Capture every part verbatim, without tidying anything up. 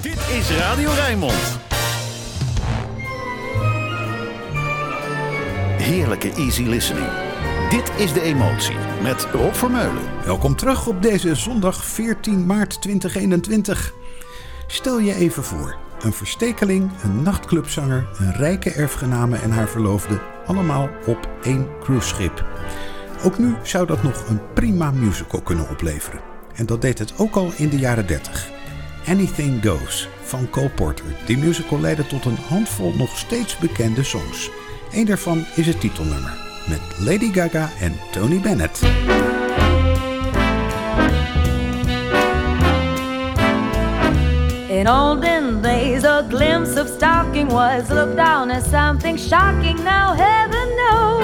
Dit is Radio Rijnmond. Heerlijke easy listening. Dit is De Emotie met Rob Vermeulen. Welkom terug op deze zondag veertien maart tweeduizend eenentwintig. Stel je even voor. Een verstekeling, een nachtclubzanger, een rijke erfgename en haar verloofde. Allemaal op één cruiseschip. Ook nu zou dat nog een prima musical kunnen opleveren. En dat deed het ook al in de jaren dertig. Anything Goes van Cole Porter. Die musical leidde tot een handvol nog steeds bekende songs. Eén daarvan is het titelnummer. Met Lady Gaga en Tony Bennett. In olden days, a glimpse of stalking was looked down as something shocking. Now heaven knows,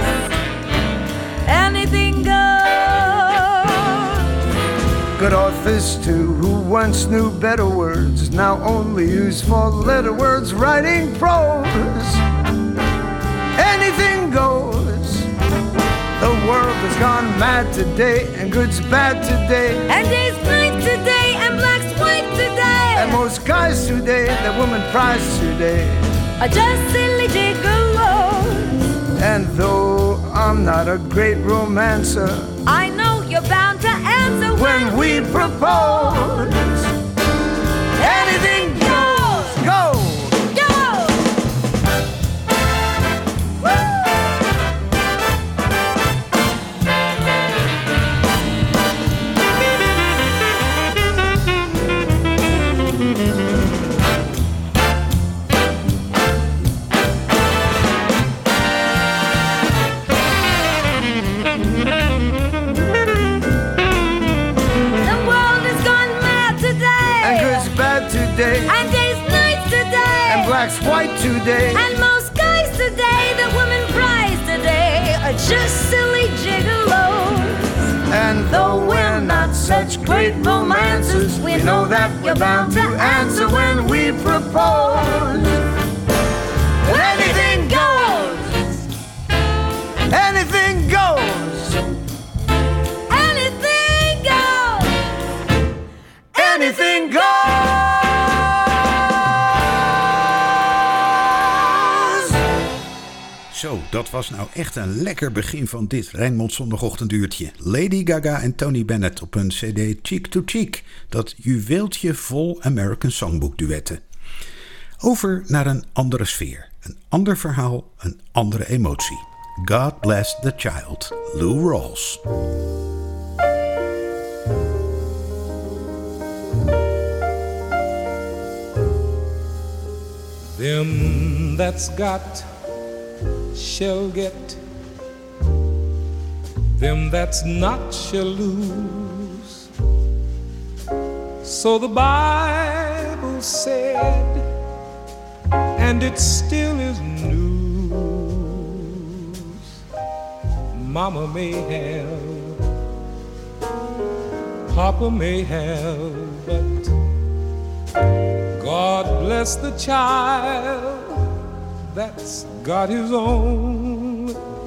anything goes. Good authors too, who once knew better words, now only use four-letter words writing prose. Anything goes. The world has gone mad today, and good's bad today, And day's night today, and black's white today. and most guys today, that woman prize today. Are just silly gigolos. And though I'm not a great romancer, I know you're bound to answer when we propose, anything goes, go. go. The world has gone mad today. And good's bad today, And day's night today. and black's white today. And most guys today, the women prize today, are just silly gigolos. And though we're not such great romancers, we know that we're bound to answer when we propose. Anything goes. Anything goes. Anything goes. Anything goes. Zo, dat was nou echt een lekker begin van dit Rijnmond zondagochtenduurtje. Lady Gaga en Tony Bennett op een cd Cheek to Cheek. Dat juweeltje vol American Songbook duetten. Over naar een andere sfeer. Een ander verhaal, een andere emotie. God Bless the Child, Lou Rawls. Them that's got shall get, them that's not shall lose. So the Bible said, and it still is news. Mama may have, Papa may have, but God bless the child that's got his own,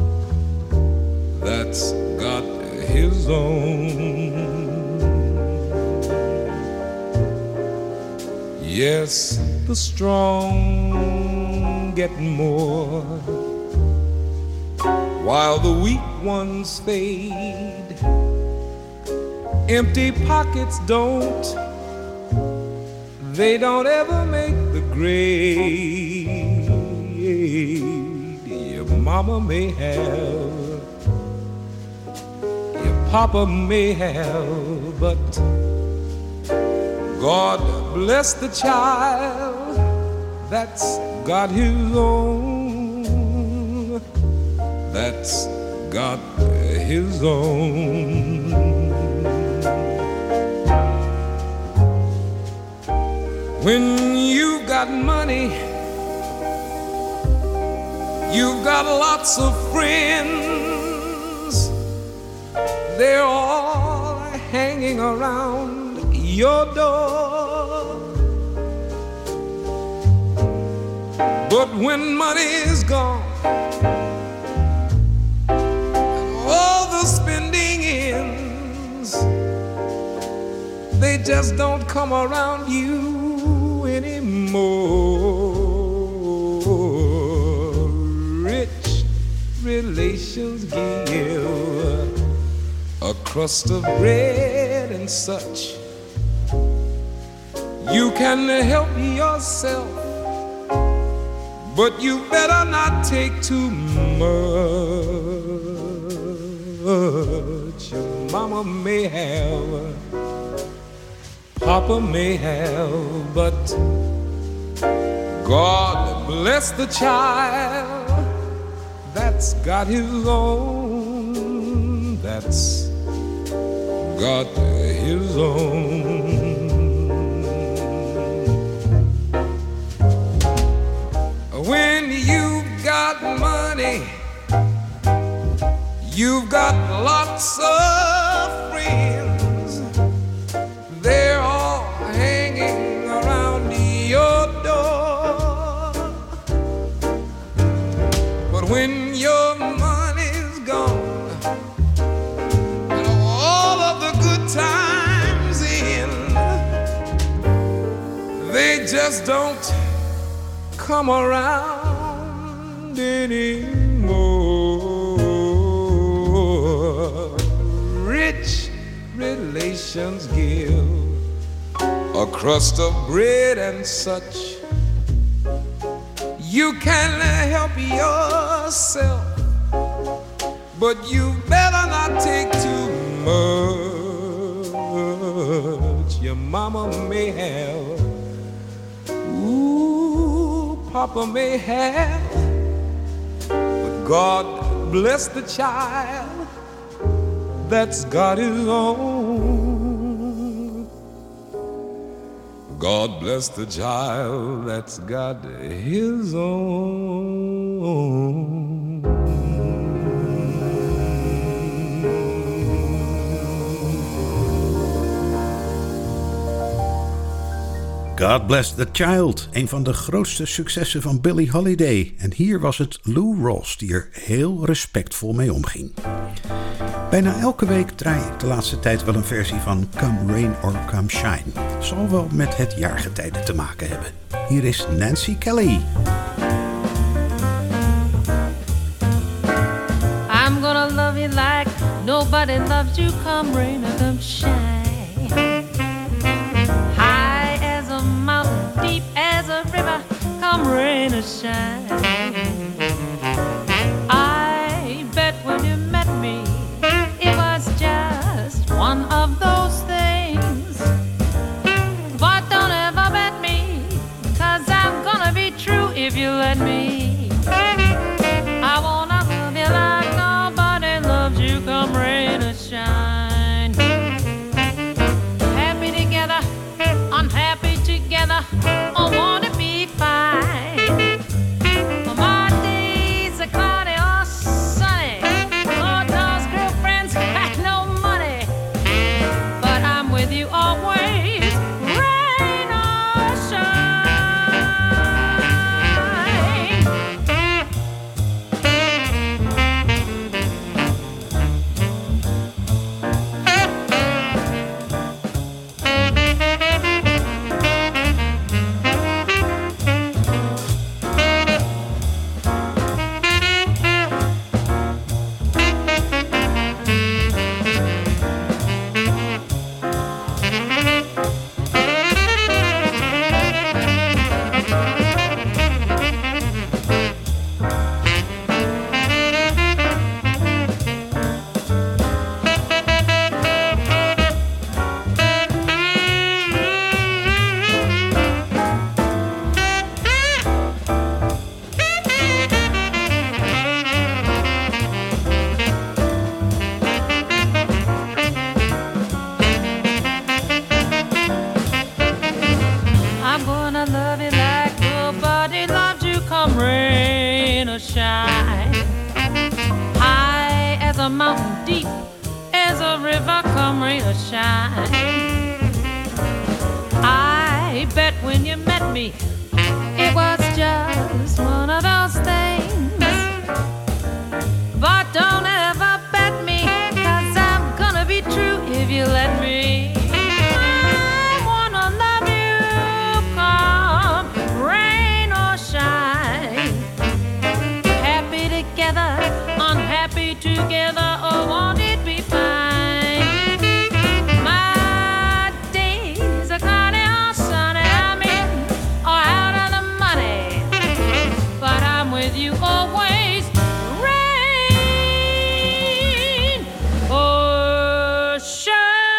that's got his own. Yes, the strong get more, while the weak ones fade. Empty pockets don't, they don't ever make the grade. Your mama may have, your papa may have, but God bless the child that's got his own, that's got his own. When you've got money, you've got lots of friends. They're all hanging around your door. But when money is gone, and all the spending ends, they just don't come around you. relations give a crust of bread and such. You can help yourself, but you better not take too much. Your mama may have, Papa may have, but God bless the child that's got his own, that's got his own. When you've got money, you've got lots of friends. They're all hanging around your door. But when your money's gone and all of the good times in, they just don't come around anymore. Rich relations give a crust of bread and such. You can help yourself, but you better not take too much. Your mama may have, ooh, Papa may have, but God bless the child that's got his own. God bless the child that's got his own. God Bless the Child, een van de grootste successen van Billie Holiday. En hier was het Lou Rawls die er heel respectvol mee omging. Bijna elke week draai ik de laatste tijd wel een versie van Come Rain or Come Shine. Zal wel met het jaargetijde te maken hebben. Hier is Nancy Kelly. I'm gonna love you like nobody loves you, come rain or come shine. Deep as a river, come rain or shine. I bet when you met me, it was just one of those things. But don't ever bet me, cause I'm gonna be true if you let me. I wanna love you like nobody loves you, come rain or shine. Happy together, unhappy together, I wanna be fine. My days are cloudy or sunny, Lord knows girlfriends got no money, but I'm with you always, rain or shine. High as a mountain, deep as a river, come rain or shine. I bet when you met me, it was just one of those things. But don't ever bet me, cause I'm gonna be true if you let me. I wanna love you, come rain or shine. Happy together, unhappy together, or won't it be fine? My days are cloudy or sunny, I'm in or out of the money, but I'm with you always, rain or shine.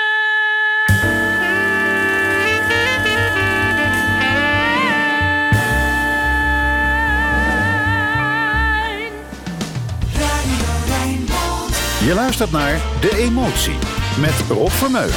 Je luistert naar De Emotie met Rob Vermeulen.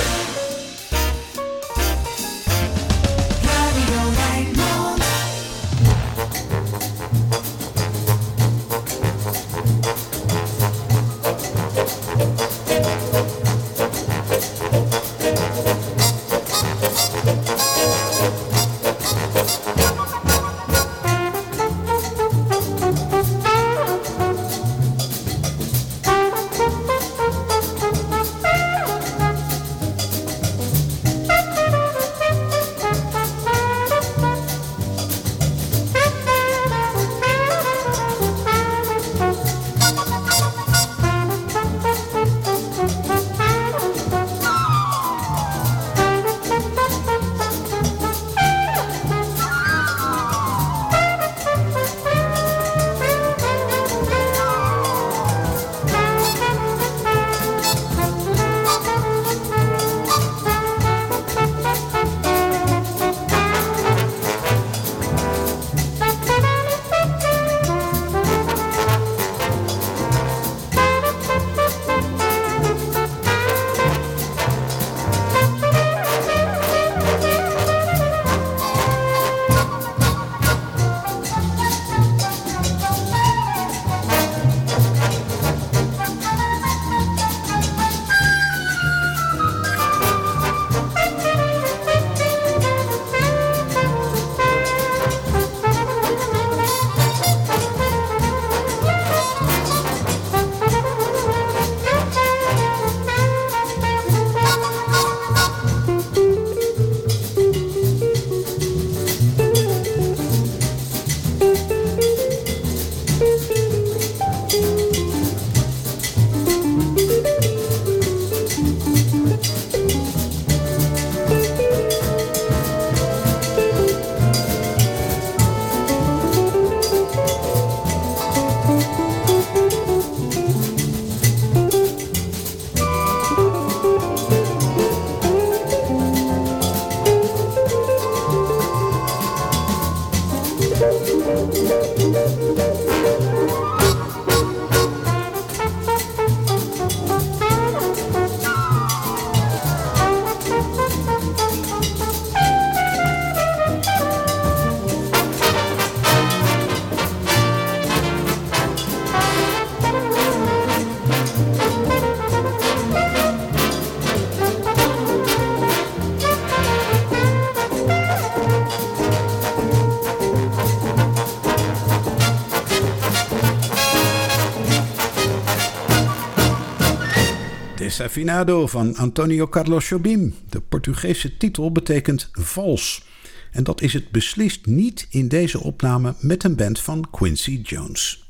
Desafinado van Antonio Carlos Jobim. De Portugese titel betekent vals. En dat is het beslist niet in deze opname met een band van Quincy Jones.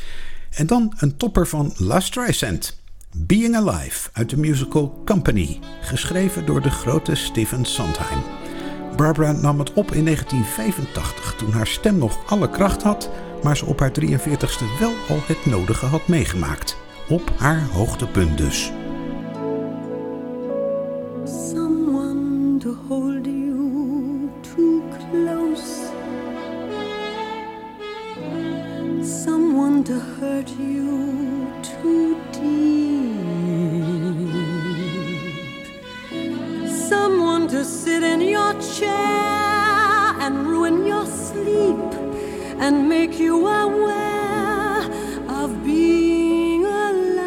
En dan een topper van La Streisand. Being Alive uit de musical Company. Geschreven door de grote Stephen Sondheim. Barbara nam het op in negentien vijfentachtig toen haar stem nog alle kracht had, maar ze op haar drieënveertigste wel al het nodige had meegemaakt. Op haar hoogtepunt dus. Someone to hold you too close. Someone to hurt you too deep. Someone to sit in your chair and ruin your sleep and make you aware of being alive.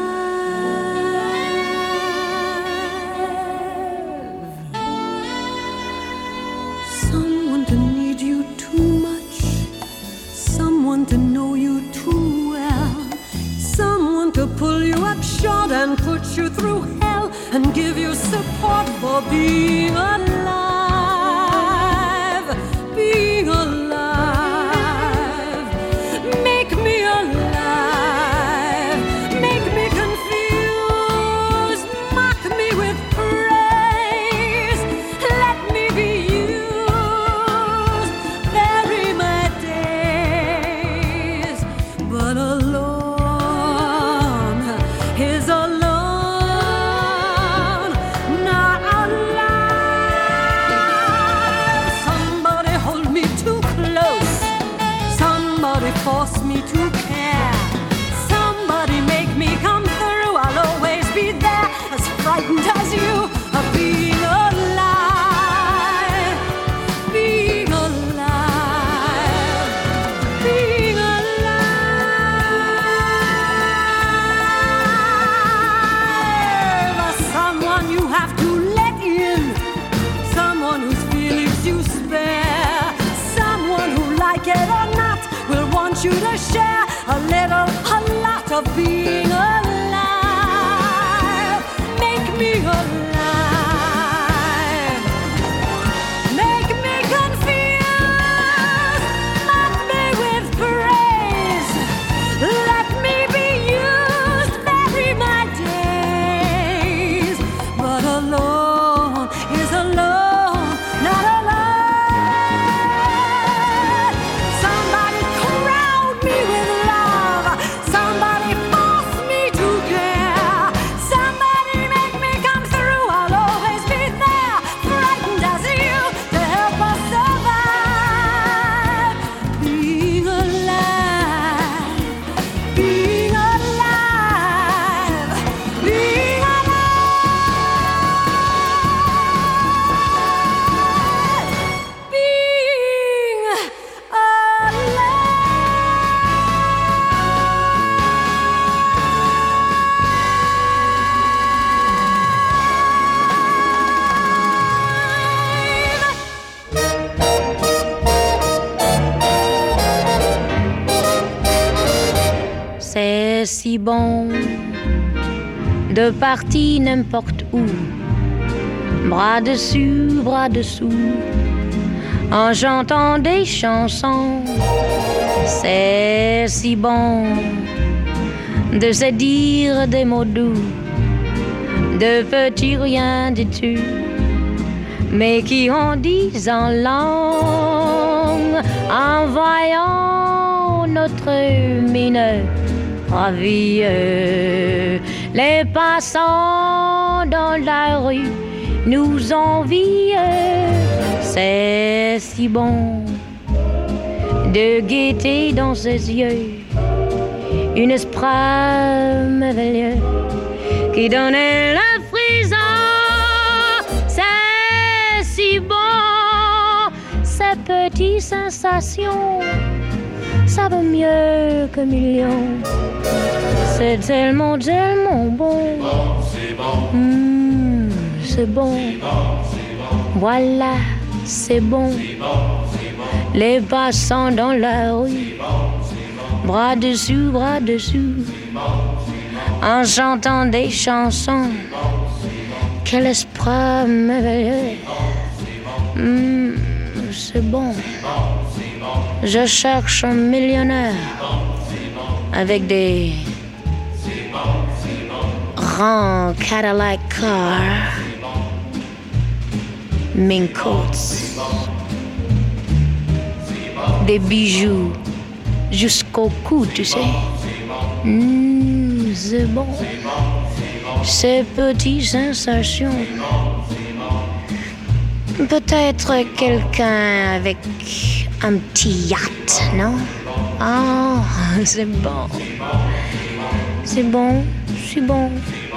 Someone to need you too much. Someone to know you too well. Someone to pull you up short and put you through hell and give you support for being alive. Being alive. Make me alive. Make me share a little, a lot of being alive. Make me alive. Make me confused. Let me with praise. Let me be used. Vary my days. But alone is alone, not alone. Somebody crowd me with love. Somebody force me to care. Somebody make me come through. I'll always be there, frightened as you, to help us survive. Being alive, being alive, being alive, being C'est si bon de partir n'importe où, bras dessus, bras dessous, en chantant des chansons. C'est si bon de se dire des mots doux, de petits rien du tout, mais qui en disent en langue, en voyant notre mine ravie. Les passants dans la rue nous envient. C'est si bon de guetter dans ses yeux une espoir merveilleux qui donnait le frisson. C'est si bon, ces petites sensations, ça vaut mieux que millions. C'est tellement, tellement bon. C'est bon, Mmh, c'est bon. Voilà, c'est bon. Les passants dans la rue, bras dessus, bras dessous, en chantant des chansons. Quel espoir merveilleux. Mmh, c'est bon. Je cherche un millionnaire avec des grands Cadillac cars, mink coats, des bijoux jusqu'au cou, tu sais. Mmh, c'est bon. Ces petites sensations. Peut-être quelqu'un avec un petit yacht, non? Ah, c'est bon. C'est bon, c'est bon.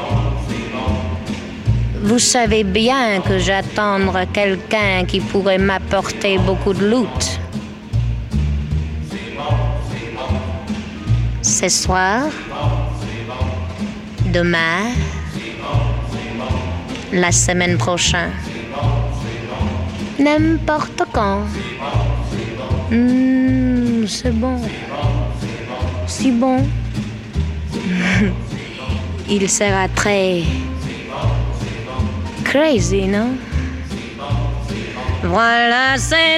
Vous savez bien que j'attends quelqu'un qui pourrait m'apporter beaucoup de loot. Ce soir, demain, la semaine prochaine, n'importe quand. Mmh, c'est bon. Si bon. Il sera très crazy, non? Voilà, c'est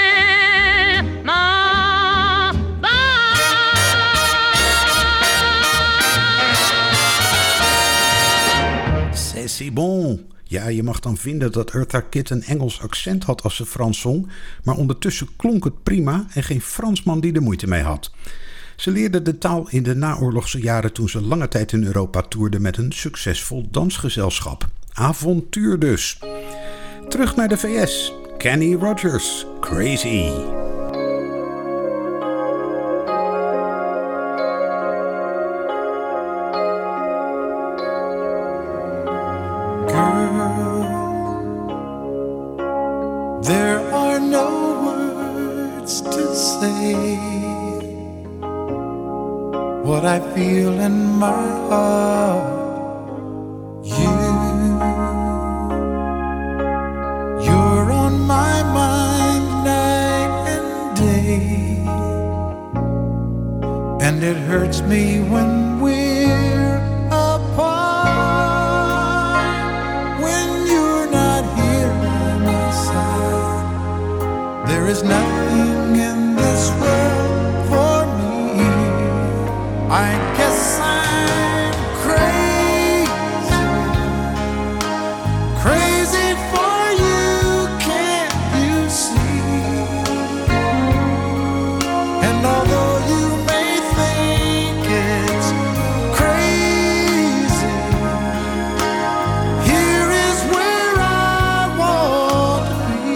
tellement bon. C'est si bon. Ja, je mag dan vinden dat Eartha Kitt een Engels accent had als ze Frans zong, maar ondertussen klonk het prima en geen Fransman die er moeite mee had. Ze leerde de taal in de naoorlogse jaren toen ze lange tijd in Europa toerde met een succesvol dansgezelschap. Avontuur dus. Terug naar de V S. Kenny Rogers, Crazy. There are no words to say what I feel in my heart. You, you're on my mind night and day. and it hurts me when we're apart. When you're not here by my side, there is nothing in this world for me. I guess I'm crazy, crazy for you, can't you see? And although you may think it's crazy, here is where I want to be.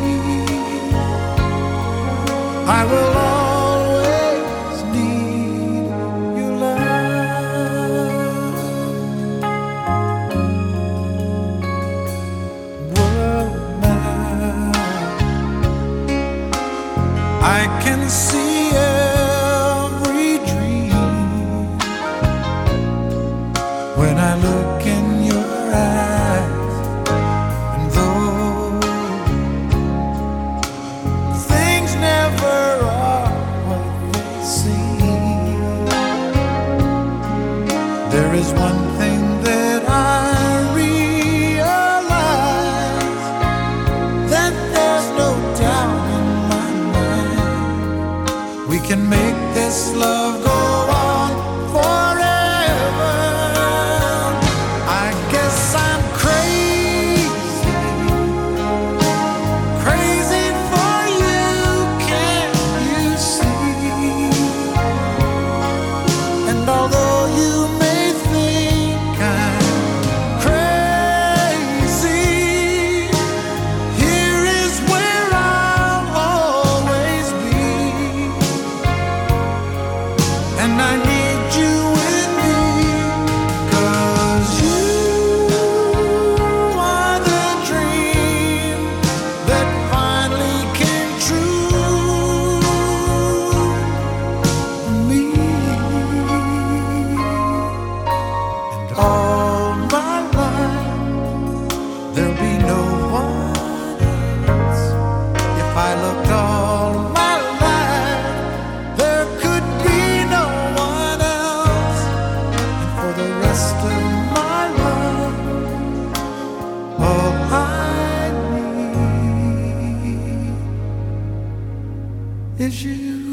I will always need your love. World now, I can see every dream when I look in your eyes. And though things never are what they seem, there is one thing that I realize, that there's no doubt in my mind we can make this love go on forever. I guess I'm crazy, crazy for you, can't you see? And although you may think I'm crazy, here is where I'll always be. And I need you with me, 'cause you are the dream that finally came true for me. And all my life there'll be no one else. If I looked all my life, there could be no one else. And for the rest of my life, all I need is you.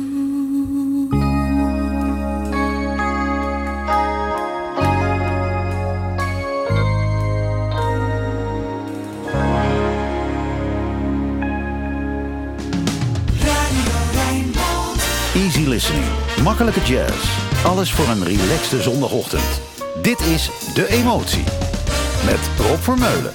Easy listening, makkelijke jazz. Alles voor een relaxte zondagochtend. Dit is De Emotie met Rob Vermeulen.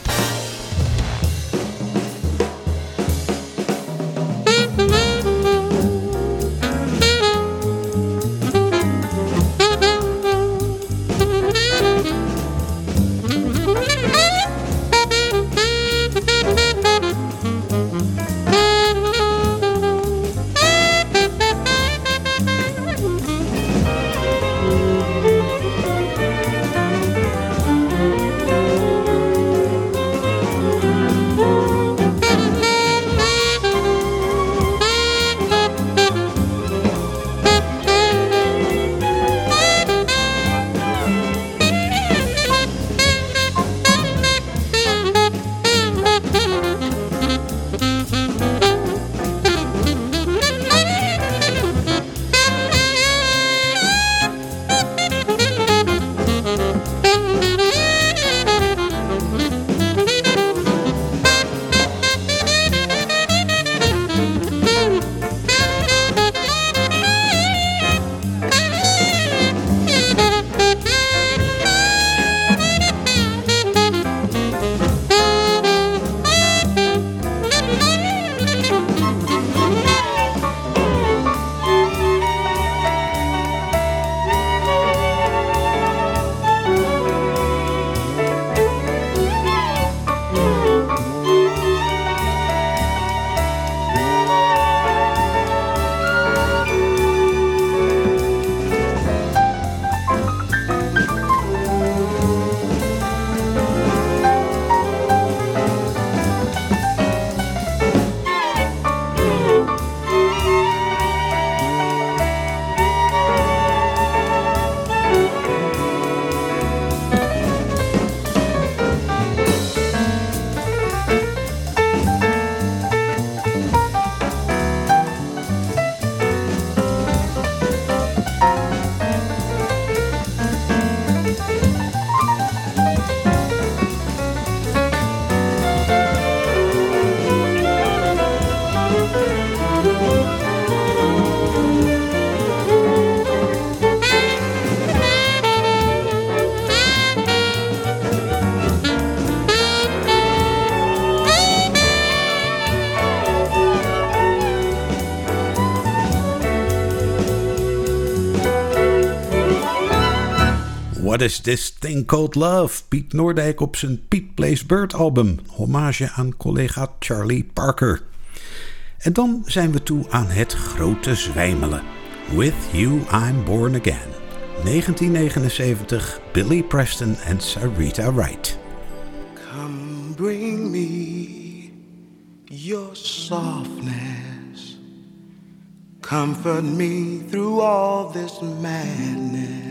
What is this thing called love? Piet Noordijk op zijn Piet Plays Bird album. Hommage aan collega Charlie Parker. En dan zijn we toe aan het grote zwijmelen. With You I'm Born Again. negentien negenenzeventig, Billy Preston en Sarita Wright. Come bring me your softness. Comfort me through all this madness.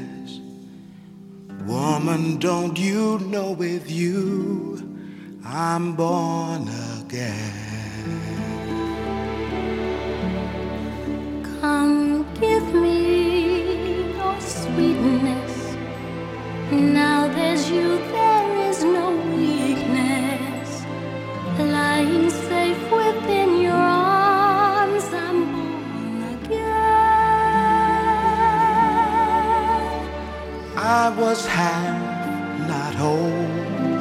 Woman, don't you know with you I'm born again. Come give me your sweetness. Now there's you, there is no weakness. Lying safe within your arms, I'm born again. I was half, not whole,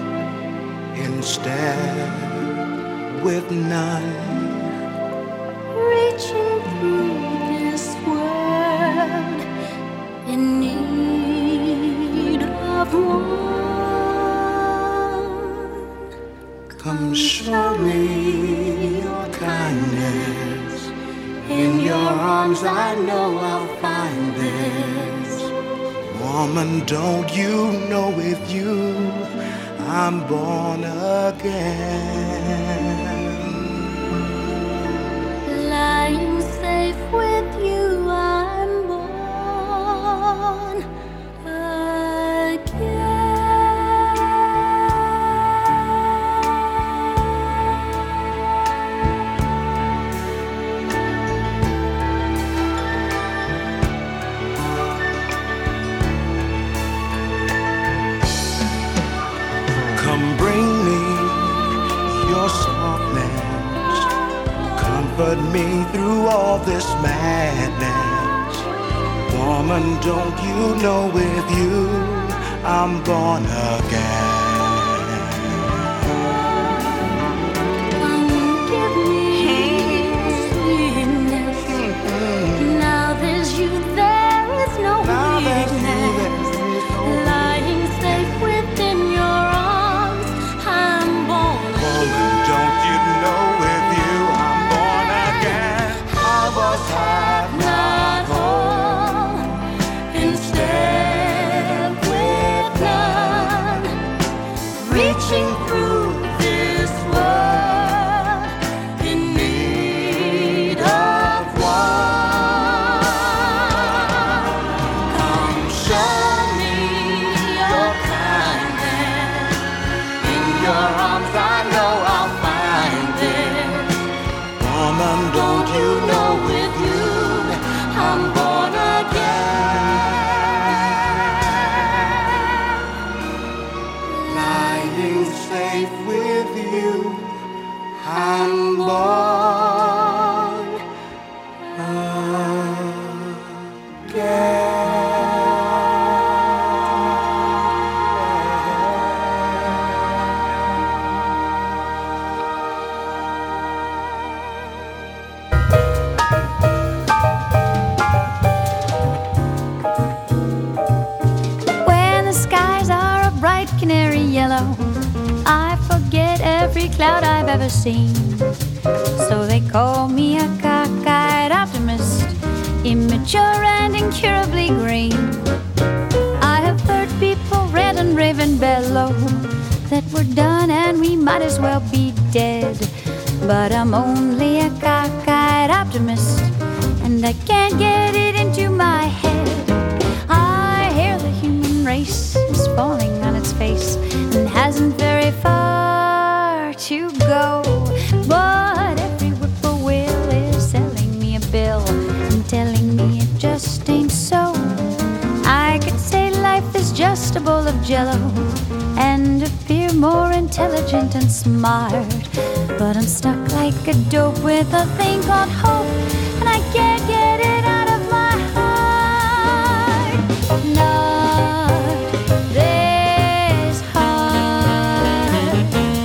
instead with none. Reaching through this world in need of one. Come show me your kindness. In your arms I know I'll find this. Woman, don't you know with you I'm born again. Lying safe with you, I'm born again. Come bring me your softness. Comfort me through all this madness. Woman, don't you know with you I'm born again. Come give me sweetness. Now there's you, there is no Now there's you, weakness. there is no Lying safe within your arms, I'm born Woman, don't you know with you I'm born again. I was half, not whole, instead with none. Reaching through this world in need of one. Come show me your kindness. In your arms I know I'll find it. woman, don't you know with you I'm born again. Lying safe with you I'm born When the skies are a bright canary yellow, I forget every cloud I've ever seen. So they call me a cockeyed optimist, immature and incurably green. I have heard people rant and rave and bellow that we're done and we might as well be dead. But I'm only a cockeyed optimist, and I can't get it into my head. I hear the human race is falling on its face and hasn't very far to go. But every whippoorwill is selling me a bill and telling me it just ain't so. I could say life is just a bowl of jello and appear more intelligent and smart. smart. But I'm stuck like a dope with a thing called hope, and I can't get it out of my heart. Not this hard.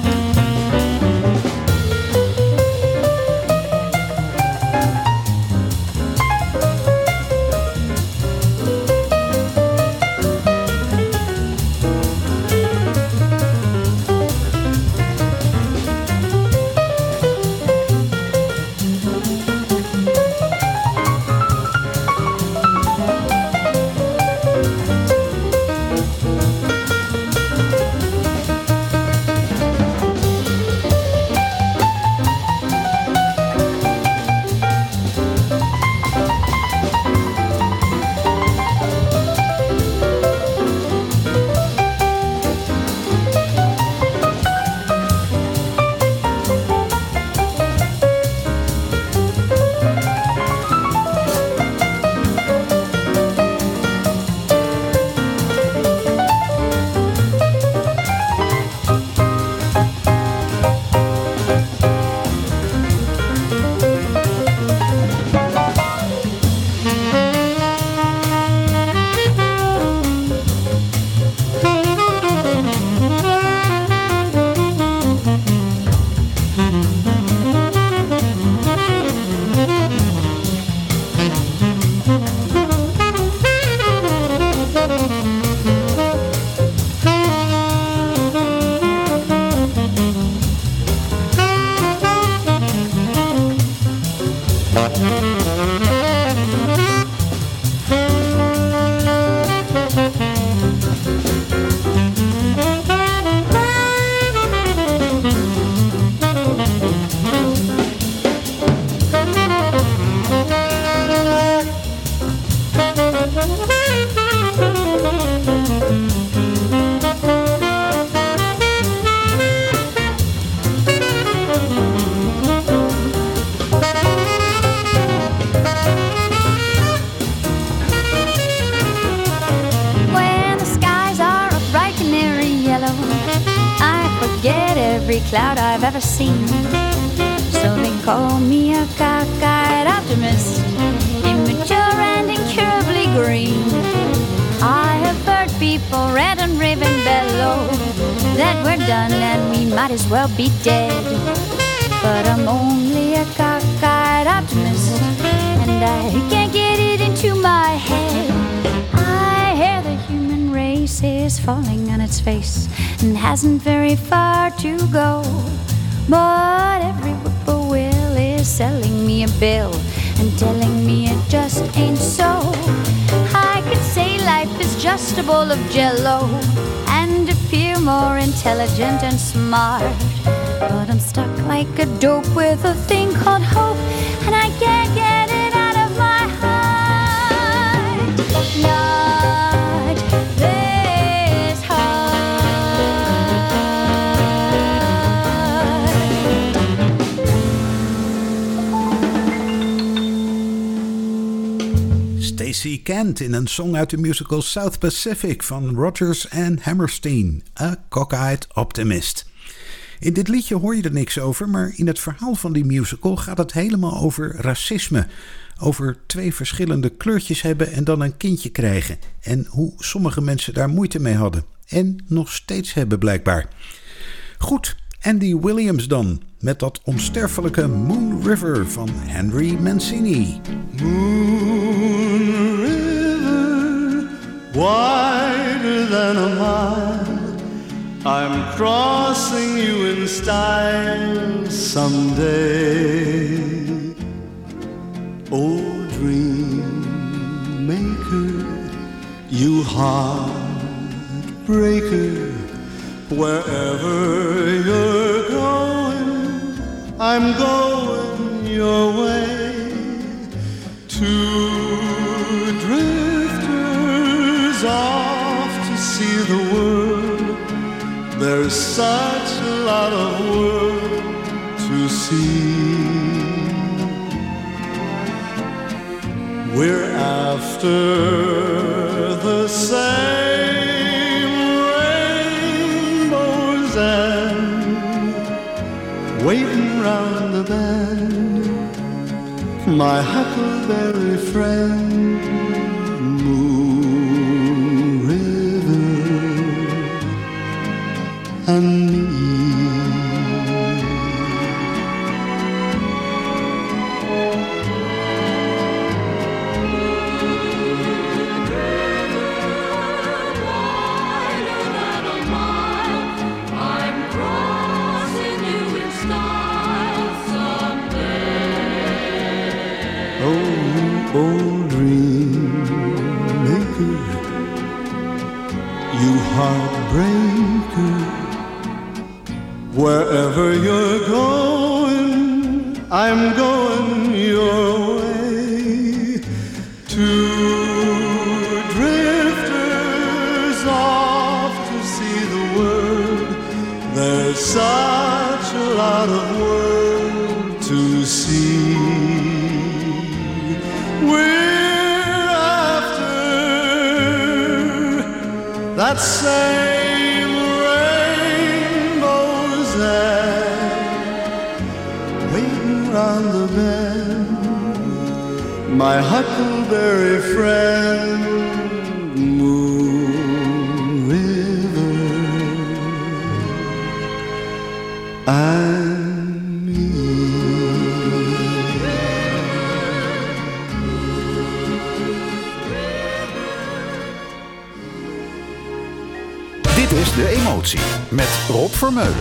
Cloud I've ever seen. So they call me a cockeyed optimist, immature and incurably green. I have heard people rant and rave and bellow that we're done and we might as well be dead. But I'm only a cockeyed optimist, and I can't get it into my head. I hear the human race is falling on its face and hasn't very far to go. But every whippoorwill is selling me a bill and telling me it just ain't so. I could say life is just a bowl of jello and appear more intelligent and smart. But I'm stuck like a dope with a thing called hope, and I can't get it out of my heart. Not this Stacey Kent in een song uit de musical South Pacific van Rodgers en Hammerstein, A Cockeyed Optimist. In dit liedje hoor je er niks over, maar in het verhaal van die musical gaat het helemaal over racisme. Over twee verschillende kleurtjes hebben en dan een kindje krijgen. En hoe sommige mensen daar moeite mee hadden. En nog steeds hebben blijkbaar. Goed, Andy Williams dan. Met dat onsterfelijke Moon River van Henry Mancini. Moon River, wider than a mile, I'm crossing you in style someday. Oh, dream maker, you heartbreaker, wherever you're going, I'm going your way. Two drifters off to see the world. There's such a lot of world to see. We're after the same rainbows and the bend, my huckleberry friend, Moon River, and me. Old dream maker, you heartbreaker, wherever you're going, I'm going your way. Two drifters off to see the world, there's such a lot of world to see. We're after that same rainbow's end, waiting round the bend, my huckleberry friend, Moon River, and Dit is De Emotie met Rob Vermeulen.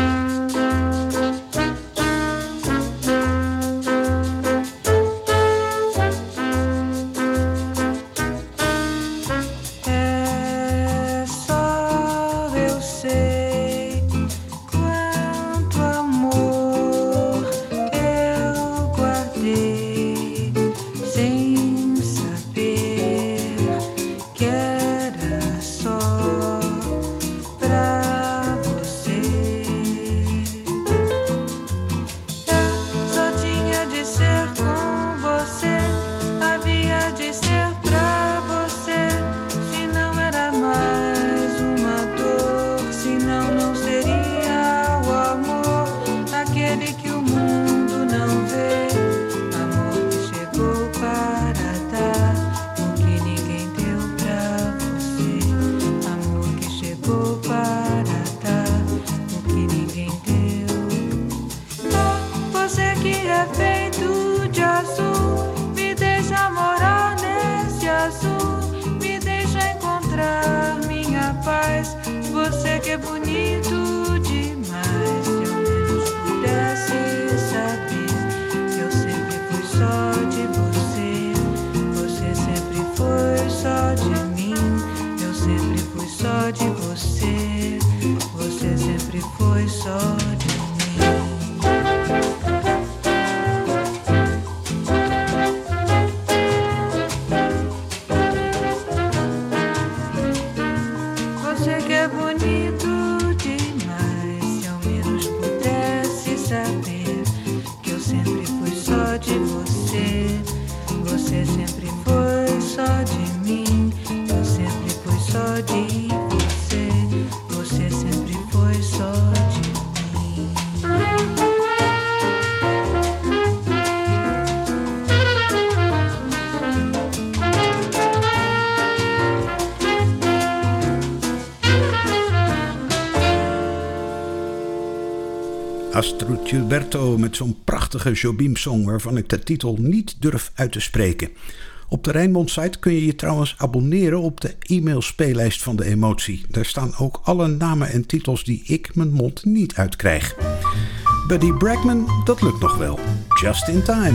Astrud Gilberto met zo'n prachtige Jobim-song waarvan ik de titel niet durf uit te spreken. Op de Rijnmond-site kun je je trouwens abonneren op de e-mail-speellijst van De Emotie. Daar staan ook alle namen en titels die ik mijn mond niet uitkrijg. Buddy Bregman, dat lukt nog wel. Just in time.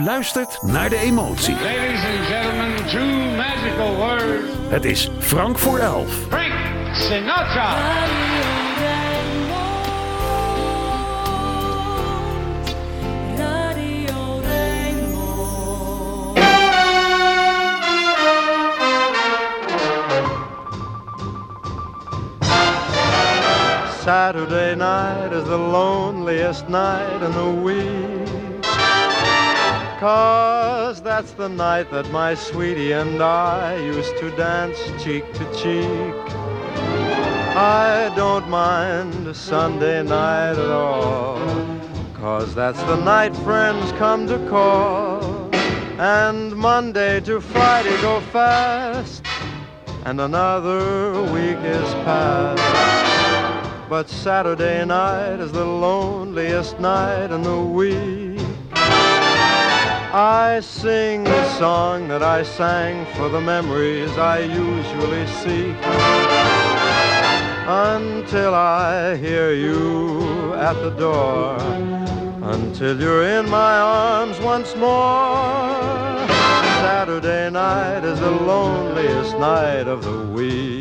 luistert naar de emotie. Ladies and gentlemen, two magical words. Het is Frank voor elf. Frank Sinatra. Saturday night is the loneliest night in the week, 'cause that's the night that my sweetie and I used to dance cheek to cheek. I don't mind Sunday night at all, 'cause that's the night friends come to call. And Monday to Friday go fast, and another week is past. But Saturday night is the loneliest night in the week. I sing the song that I sang for the memories I usually seek, until I hear you at the door, until you're in my arms once more. Saturday night is the loneliest night of the week.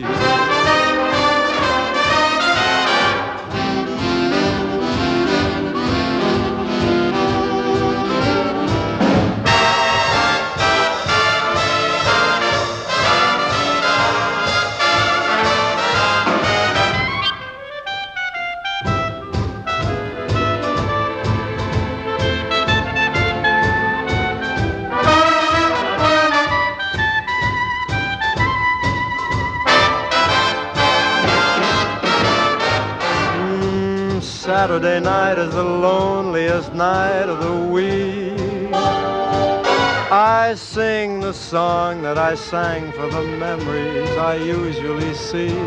Saturday night is the loneliest night of the week. I sing the song that I sang for the memories I usually see,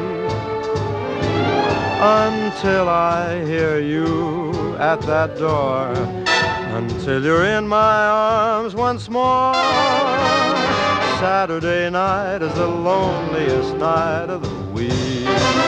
until I hear you at that door, until you're in my arms once more. Saturday night is the loneliest night of the week.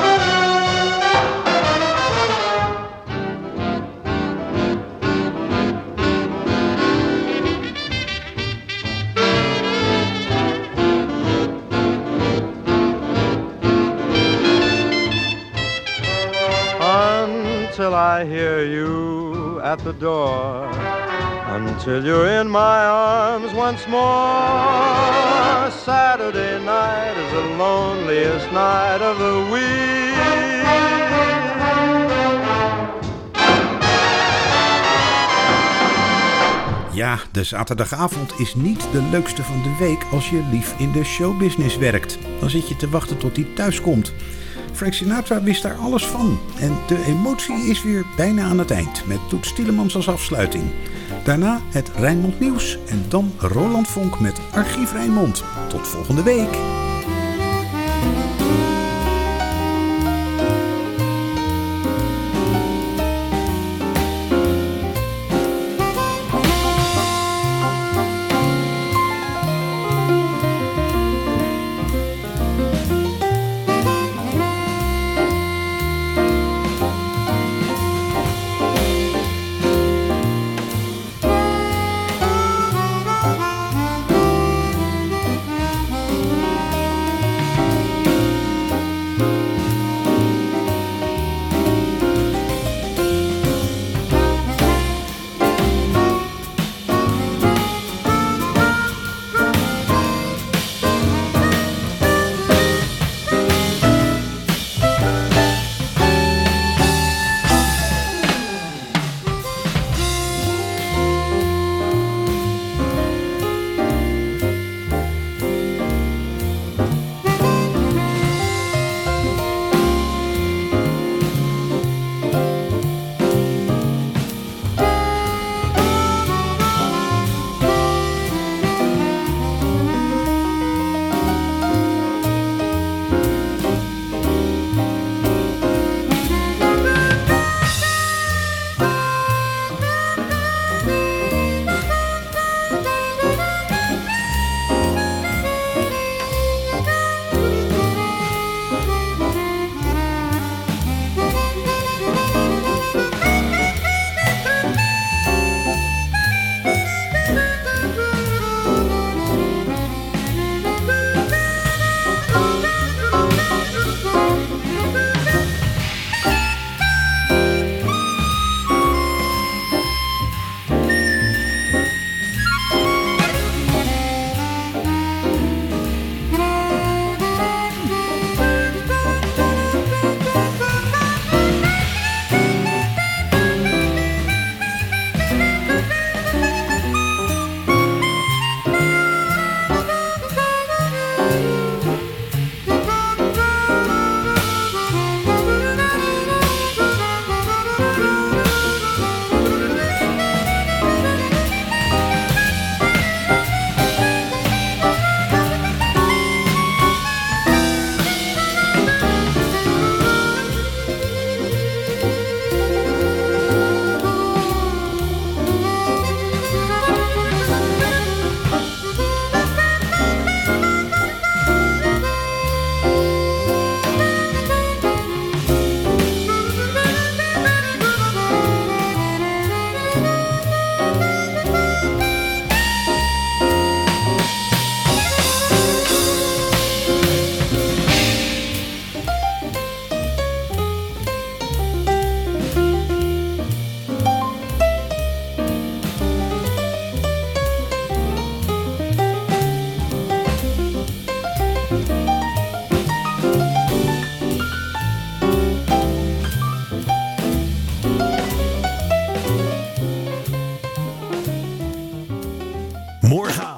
Until I hear you at the door, until you're in my arms once more. Saturday night is the loneliest night of the week. Ja, de zaterdagavond is niet de leukste van de week als je lief in de showbusiness werkt. Dan zit je te wachten tot hij thuis komt. Frank Sinatra wist daar alles van. En de emotie is weer bijna aan het eind, met Toets Tielemans als afsluiting. Daarna het Rijnmond Nieuws en dan Roland Vonk met Archief Rijnmond. Tot volgende week. Morgen.